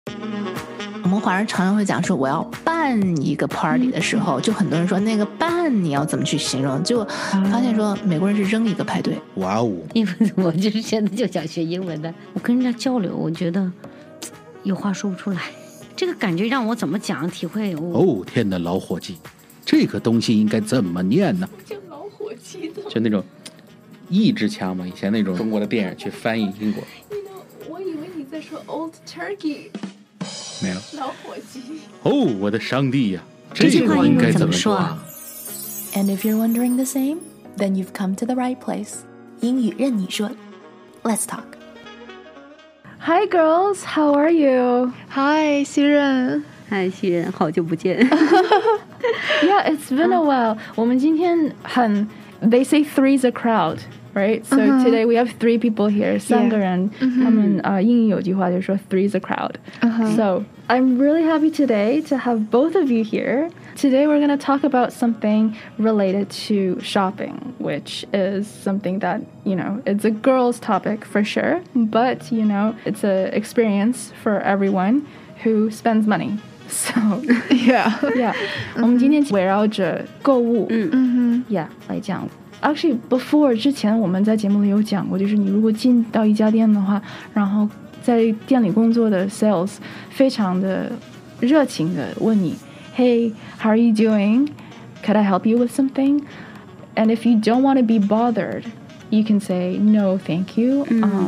我们华人常常会讲说我要办一个 party 的时候，就很多人说那个办你要怎么去形容，结果发现说美国人是扔一个派对。 哇哦！ 因为我就是现在就想学英文的，我跟人家交流，我觉得有话说不出来，这个感觉让我怎么讲体会哦天哪，老伙计，这个东西应该怎么念呢？ 就老伙计的， 就那种意志腔嘛，以前那种中国的电影去翻译英国。 我以为你在说 Old Turkey。 没有， 老伙计。 哦，我的上帝呀， 这句话应该怎么说啊 ？And if you're wondering the same, then you've come to the right place. 英语任你说 Let's talk. Hi girls, how are you? Hi, 西任。 嗨，西任，好久不见。 Yeah, it's been a while. 我们今天很 They say three's a crowd, right? So today we have 3 people here. 3个人，他们英语有句话就是说 three's a crowd. So I'm really happy today to have both of you here. Today we're going to talk about something related to shopping, which is something that, you know, it's a girl's topic for sure, but, you know, it's an experience for everyone who spends money. So, yeah. 我们今天围绕着购物 yeah 来讲。Actually, before 之前我们在节目里有讲过，就是你如果进到一家店的话，然后在店里工作的 sales 非常的热情的问你 Hey, how are you doing? Could I help you with something? And if you don't want to be bothered, you can say, no, thank you.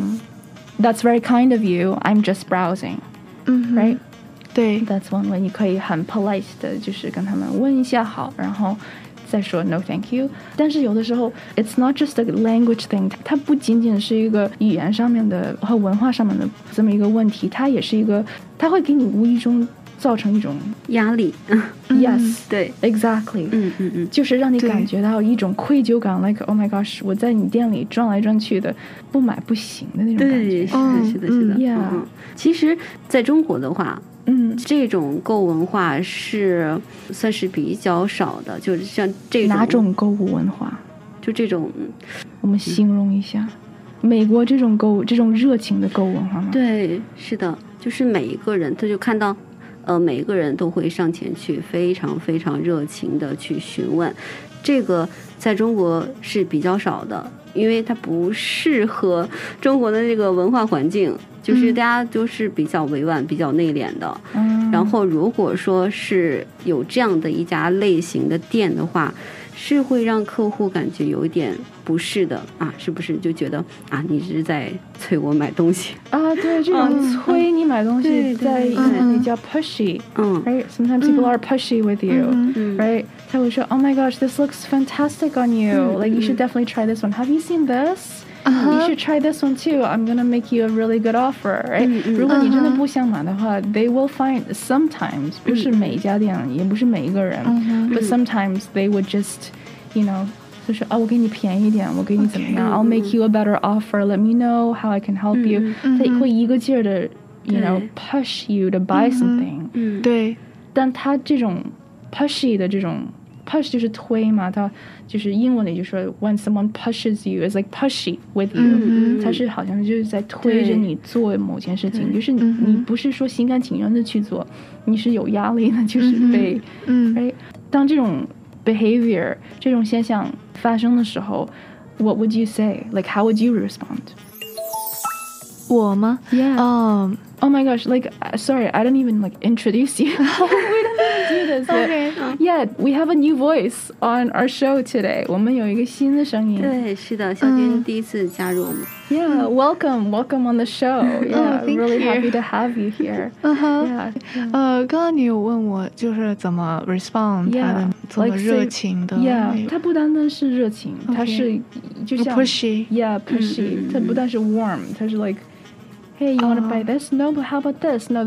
That's very kind of you. I'm just browsing. Right? 对 That's one way. 你可以很 polite 的就是跟他们问一下好，然后再说 no thank you。 但是有的时候 it's not just a language thing， 它不仅仅是一个语言上面的和文化上面的这么一个问题，它也是一个，它会给你无意中造成一种压力。 Yes， 对 exactly， 就是让你感觉到一种愧疚感 ，like oh my gosh， 我在你店里转来转去的，不买不行的那种感觉。 对，是的。 Yeah， 其实在中国的话，这种购物文化是算是比较少的，就是像这种哪种购物文化？ 就这种， 我们形容一下，美国这种购物这种热情的购物文化吗？ 对，是的，就是每一个人他就看到。每一个人都会上前去非常非常热情的去询问，这个在中国是比较少的，因为它不适合中国的这个文化环境，就是大家都是比较委婉比较内敛的。然后如果说是有这样的一家类型的店的话，是会让客户感觉有一点不适的啊，是不是就觉得啊你是在催我买东西啊？对，这种催你买东西在英文里叫 pushy， right? Sometimes people are pushy with you, right? 他会说 Oh my gosh, this looks fantastic on you. Like you should definitely try this one. Have you seen this? You should try this one too. I'm gonna make you a really good offer, right? 如果你真的不想买的话 they will find sometimes 不是每一家店也不是每一个人 but sometimes they would just, you know 就是我给你便宜一点，我给你怎么样 I'll make you a better offer. Let me know how I can help you. 他会一个劲儿的 you know push you to buy something. 对， 但他这种 pushy 的这种 push 就是推嘛，它就是英文里就说 when someone pushes you is like pushy with you， 它是好像就是在推着你做某件事情，就是你不是说心甘情愿的去做，你是有压力的，就是被当这种 behavior 这种现象发生的时候 what would you say? Like how would you respond? 我吗？ Yeah. Oh my gosh, like sorry, I don't even like introduce you. We don't even do this. Okay. Yeah, we have a new voice on our show today. 我们有一个新的声音。 对，是的，小军第一次加入我们。 Yeah, welcome on the show. Yeah, thank really you. happy to have you here. Yeah. 刚刚你有问我就是怎么 respond 他的这么热情的 Yeah, 它不单单是热情，它是就像 pushy. Yeah, pushy. 它不但是 warm， 它是 like Hey, you want to buy this? No, but how about this? No,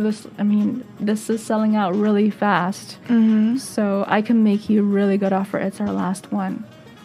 this is selling out really fast. So I can make you a really good offer. It's our last one.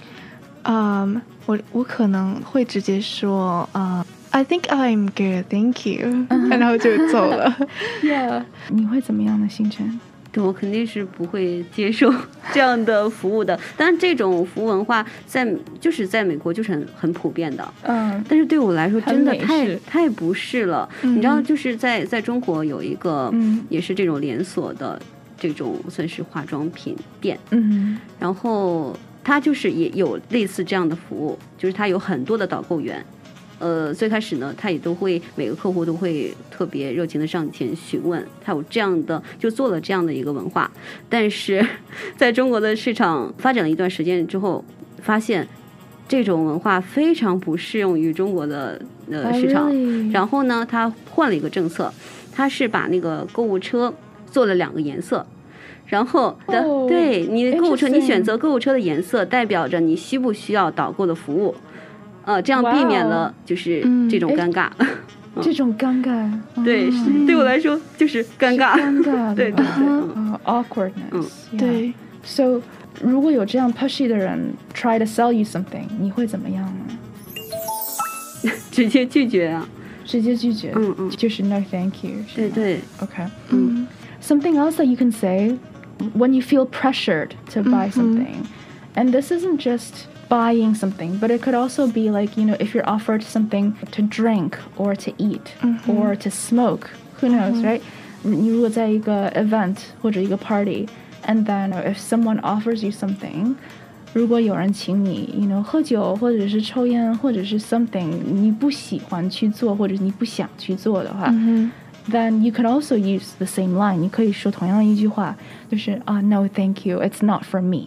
我可能会直接说I think I'm good, thank you. 然后就走了。 Yeah. 你会怎么样的心情？ 对，我肯定是不会接受这样的服务的。但这种服务文化在美国就是很普遍的，但是对我来说真的太不适了。你知道，就是在中国有一个也是这种连锁的这种算是化妆品店，然后它就是也有类似这样的服务，就是它有很多的导购员。最开始呢，他也都会每个客户都会特别热情的上前询问，他有这样的就做了这样的一个文化。但是在中国的市场发展了一段时间之后，发现这种文化非常不适用于中国的市场。然后呢，他换了一个政策，他是把那个购物车做了2个颜色。然后对你的购物车，你选择购物车的颜色，代表着你需不需要导购的服务。这样避免了就是这种尴尬。 这种尴尬， 对，对我来说就是尴尬，对对对 ，awkwardness。 对。 So， 如果有这样 pushy 的人 try to sell you something， 你会怎么样呢？ 直接拒绝啊！ 直接拒绝，就是 no thank you。 对对 ，OK。Something else that you can say when you feel pressured to buy something, and this isn't just buying something, but it could also be like, you know, if you're offered something to drink or to eat or to smoke, who knows, right? 你如果在一个 event 或者一个 party, and then if someone offers you something, 如果有人请你 you know 喝酒或者是抽烟或者是 something 你不喜欢去做或者你不想去做的话then you could also use the same line. 你可以说同样的一句话，就是no thank you, it's not for me.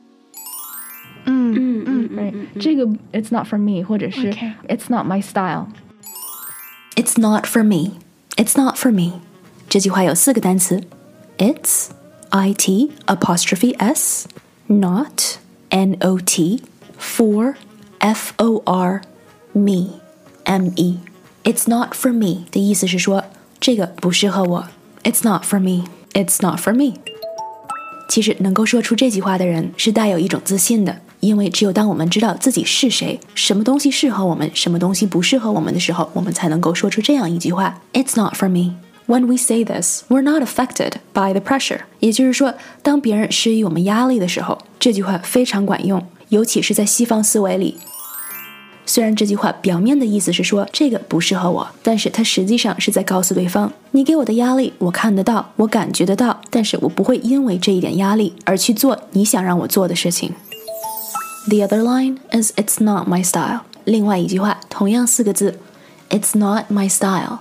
Right. 这个 it's not for me 或者是 it's not my style. It's not for me. It's not for me. 这句话有4个单词 It's IT apostrophe S Not N-O-T For F-O-R Me M-E It's not for me 的意思是说这个不适合我 It's not for me. It's not for me. 其实能够说出这句话的人是带有一种自信的，因为只有当我们知道自己是谁，什么东西适合我们，什么东西不适合我们的时候，我们才能够说出这样一句话 It's not for me. When we say this, we're not affected by the pressure. 也就是说，当别人施予我们压力的时候，这句话非常管用，尤其是在西方思维里。虽然这句话表面的意思是说这个不适合我，但是它实际上是在告诉对方，你给我的压力我看得到，我感觉得到，但是我不会因为这一点压力而去做你想让我做的事情。The other line is it's not my style. 另外一句话同样4个字 It's not my style.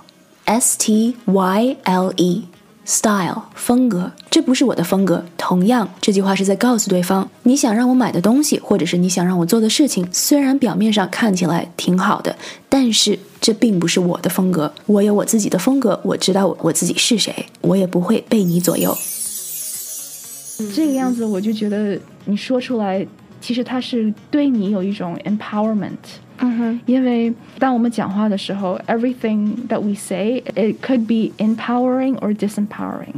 S-T-Y-L-E Style 风格，这不是我的风格。同样，这句话是在告诉对方，你想让我买的东西，或者是你想让我做的事情，虽然表面上看起来挺好的，但是这并不是我的风格。我有我自己的风格，我知道我自己是谁，我也不会被你左右。 这个样子，我就觉得你说出来，其实它是对你有一种 empowerment。因为当我们讲话的时候 everything that we say, it could be empowering or disempowering.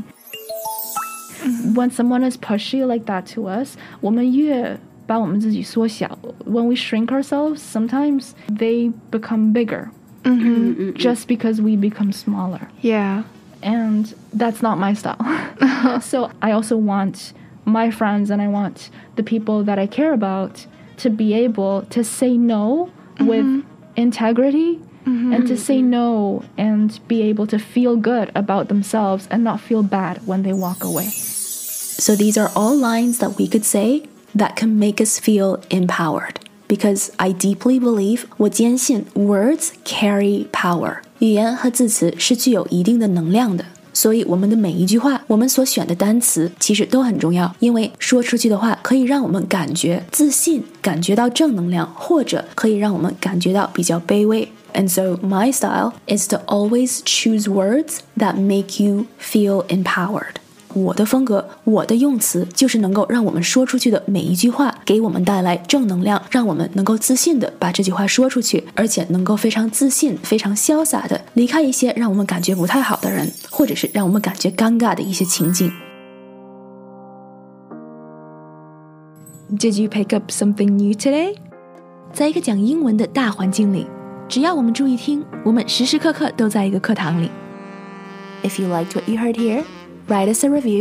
When someone is pushy like that to us, 我们越把我们自己缩小 when we shrink ourselves, sometimes they become bigger just because we become smaller. Yeah. And that's not my style. So I also want my friends and I want the people that I care about to be able to say no with integrity and to say no and be able to feel good about themselves and not feel bad when they walk away. So these are all lines that we could say that can make us feel empowered. Because I deeply believe, 我坚信 words carry power. 语言和字词是具有一定的能量的。所以我们的每一句话，我们所选的单词其实都很重要，因为说出去的话可以让我们感觉自信，感觉到正能量，或者可以让我们感觉到比较卑微。And so my style is to always choose words that make you feel empowered. 我的风格，我的用词，就是能够让我们说出去的每一句话给我们带来正能量，让我们能够自信的把这句话说出去，而且能够非常自信、非常潇洒的离开一些让我们感觉不太好的人，或者是让我们感觉尴尬的一些情境。Did you pick up something new today? 在一个讲英文的大环境里，只要我们注意听，我们时时刻刻都在一个课堂里。If you liked what you heard here, write us a review,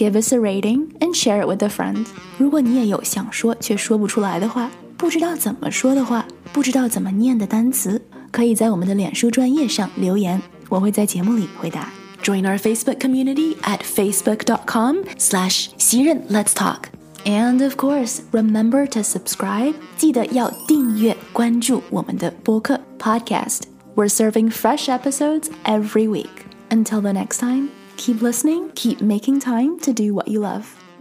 give us a rating and share it with a friend. 如果你也有想说却说不出来的话，不知道怎么说的话，不知道怎么念的单词，可以在我们的脸书专页上留言，我会在节目里回答。Join our Facebook community at facebook.com/袭人 Let's Talk. And of course, remember to subscribe. 记得要订阅关注我们的播客 podcast. We're serving fresh episodes every week. Until the next time, keep listening, keep making time to do what you love.